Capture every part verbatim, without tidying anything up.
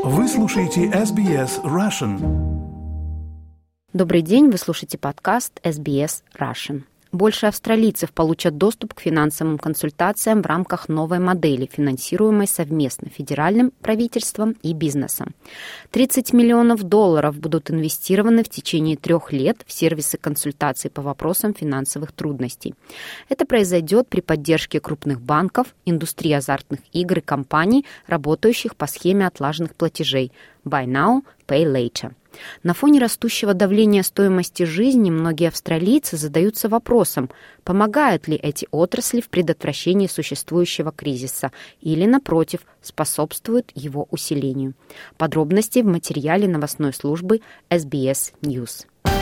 Вы слушаете эс би эс Russian. Добрый день, вы слушаете подкаст эс би эс Russian. Больше австралийцев получат доступ к финансовым консультациям в рамках новой модели, финансируемой совместно федеральным правительством и бизнесом. тридцать миллионов долларов будут инвестированы в течение трех лет в сервисы консультаций по вопросам финансовых трудностей. Это произойдет при поддержке крупных банков, индустрии азартных игр и компаний, работающих по схеме отлаженных платежей «Buy now, pay later». На фоне растущего давления стоимости жизни многие австралийцы задаются вопросом, помогают ли эти отрасли в предотвращении существующего кризиса или, напротив, способствуют его усилению. Подробности в материале новостной службы эс би эс News.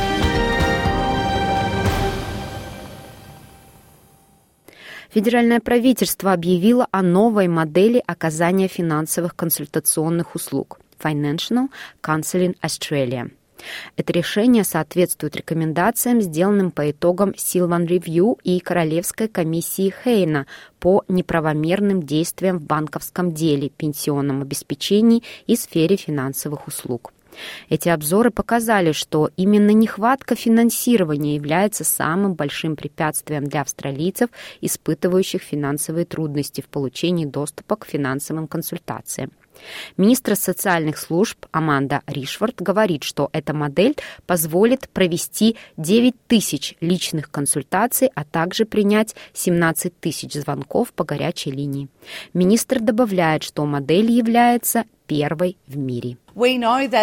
Федеральное правительство объявило о новой модели оказания финансовых консультационных услуг Financial Counselling Australia. Это решение соответствует рекомендациям, сделанным по итогам Sylvan Review и Королевской комиссии Хейна по неправомерным действиям в банковском деле, пенсионном обеспечении и сфере финансовых услуг. Эти обзоры показали, что именно нехватка финансирования является самым большим препятствием для австралийцев, испытывающих финансовые трудности в получении доступа к финансовым консультациям. Министр социальных служб Аманда Ришфорд говорит, что эта модель позволит провести девять тысяч личных консультаций, а также принять семнадцать тысяч звонков по горячей линии. Министр добавляет, что модель является первой в мире. Мы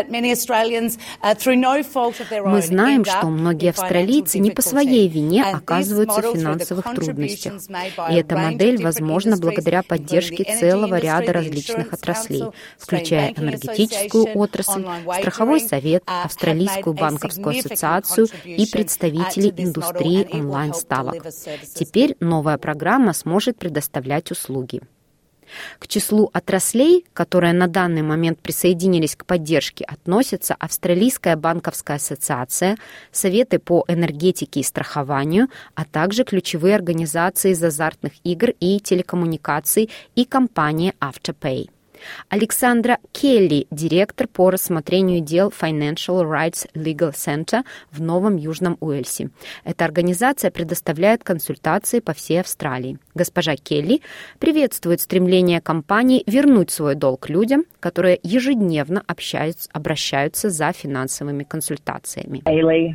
знаем, что многие австралийцы не по своей вине оказываются в финансовых трудностях. И эта модель возможна благодаря поддержке целого ряда различных отраслей, включая энергетическую отрасль, страховой совет, Австралийскую банковскую ассоциацию и представителей индустрии онлайн-ставок. Теперь новая программа сможет предоставлять услуги. К числу отраслей, которые на данный момент присоединились к поддержке, относятся Австралийская банковская ассоциация, Советы по энергетике и страхованию, а также ключевые организации из азартных игр и телекоммуникаций и компания Afterpay. Александра Келли, директор по рассмотрению дел Financial Rights Legal Center в Новом Южном Уэльсе. Эта организация предоставляет консультации по всей Австралии. Госпожа Келли приветствует стремление компании вернуть свой долг людям, которые ежедневно общаются, обращаются за финансовыми консультациями.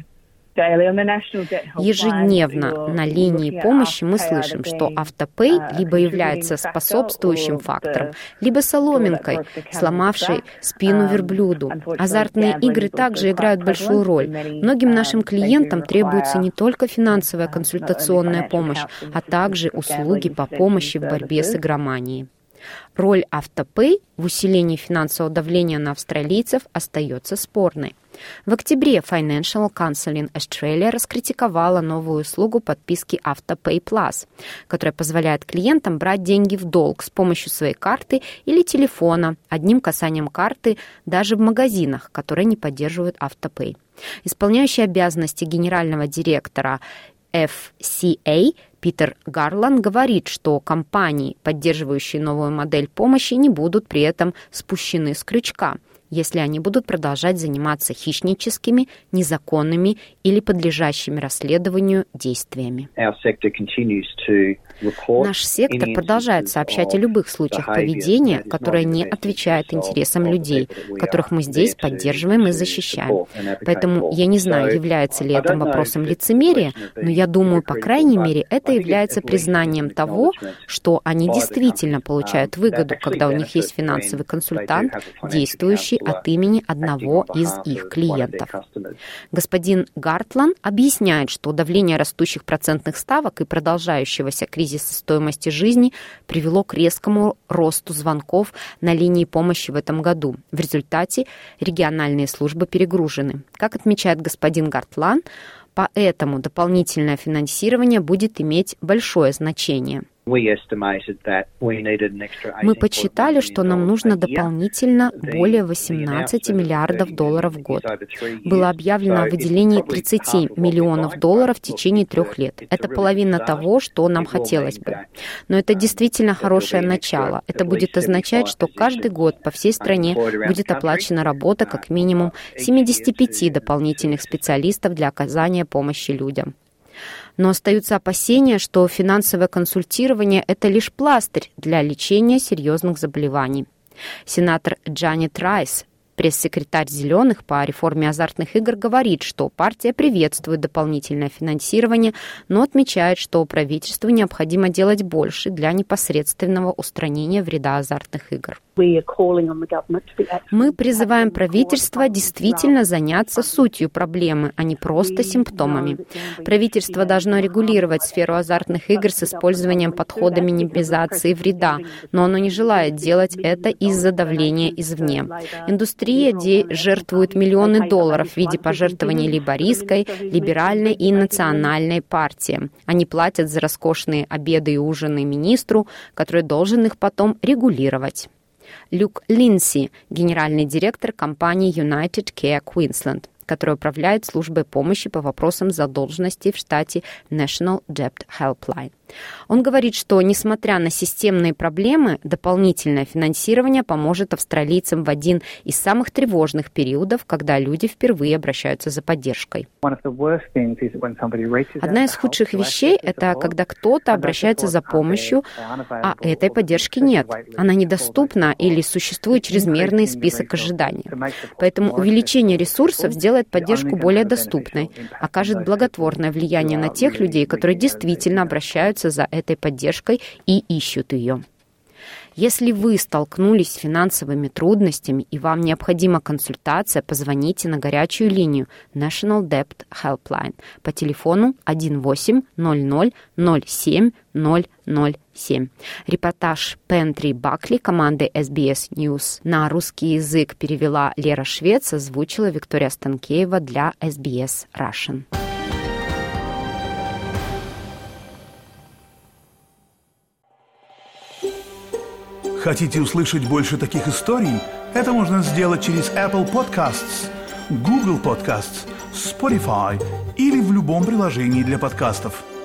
Ежедневно на линии помощи мы слышим, что автопей либо является способствующим фактором, либо соломинкой, сломавшей спину верблюду. Азартные игры также играют большую роль. Многим нашим клиентам требуется не только финансовая консультационная помощь, а также услуги по помощи в борьбе с игроманией. Роль автопей в усилении финансового давления на австралийцев остается спорной. В октябре Financial Counselling Australia раскритиковала новую услугу подписки Автопей Plus, которая позволяет клиентам брать деньги в долг с помощью своей карты или телефона, одним касанием карты даже в магазинах, которые не поддерживают Автопей. Исполняющий обязанности генерального директора эф си эй Питер Гарлан говорит, что компании, поддерживающие новую модель помощи, не будут при этом спущены с крючка, если они будут продолжать заниматься хищническими, незаконными или подлежащими расследованию действиями. Наш сектор продолжает сообщать о любых случаях поведения, которое не отвечает интересам людей, которых мы здесь поддерживаем и защищаем. Поэтому я не знаю, является ли это вопросом лицемерия, но я думаю, по крайней мере, это является признанием того, что они действительно получают выгоду, когда у них есть финансовый консультант, действующий от имени одного из их клиентов. Господин Гартлан объясняет, что давление растущих процентных ставок и продолжающегося кризиса стоимости жизни привело к резкому росту звонков на линии помощи в этом году. В результате региональные службы перегружены. Как отмечает господин Гартлан, поэтому дополнительное финансирование будет иметь большое значение. Мы подсчитали, что нам нужно дополнительно более восемнадцать миллиардов долларов в год. Было объявлено о выделении тридцать миллионов долларов в течение трех лет. Это половина того, что нам хотелось бы. Но это действительно хорошее начало. Это будет означать, что каждый год по всей стране будет оплачена работа как минимум семьдесят пять дополнительных специалистов для оказания помощи людям. Но остаются опасения, что финансовое консультирование – это лишь пластырь для лечения серьезных заболеваний. Сенатор Джанет Райс, пресс-секретарь «Зеленых» по реформе азартных игр, говорит, что партия приветствует дополнительное финансирование, но отмечает, что правительству необходимо делать больше для непосредственного устранения вреда азартных игр. Мы призываем правительство действительно заняться сутью проблемы, а не просто симптомами. Правительство должно регулировать сферу азартных игр с использованием подхода минимизации вреда, но оно не желает делать это из-за давления извне. Индустрия жертвует миллионы долларов в виде пожертвований лейбористской, либеральной и национальной партии. Они платят за роскошные обеды и ужины министру, который должен их потом регулировать. Люк Линдси, генеральный директор компании United Care Queensland, которая управляет службой помощи по вопросам задолженности в штате National Debt Helpline. Он говорит, что, несмотря на системные проблемы, дополнительное финансирование поможет австралийцам в один из самых тревожных периодов, когда люди впервые обращаются за поддержкой. Одна из худших вещей – это когда кто-то обращается за помощью, а этой поддержки нет. Она недоступна или существует чрезмерный список ожиданий. Поэтому увеличение ресурсов сделает поддержку более доступной, окажет благотворное влияние на тех людей, которые действительно обращаются за этой поддержкой и ищут ее. Если вы столкнулись с финансовыми трудностями и вам необходима консультация, позвоните на горячую линию National Debt Helpline по телефону один восемь ноль ноль ноль семь ноль ноль семь. Репортаж Пентри Бакли команды эс би эс News на русский язык перевела Лера Швец, озвучила Виктория Станкеева для эс би эс Russian. Хотите услышать больше таких историй? Это можно сделать через Apple Podcasts, Google Podcasts, Spotify или в любом приложении для подкастов.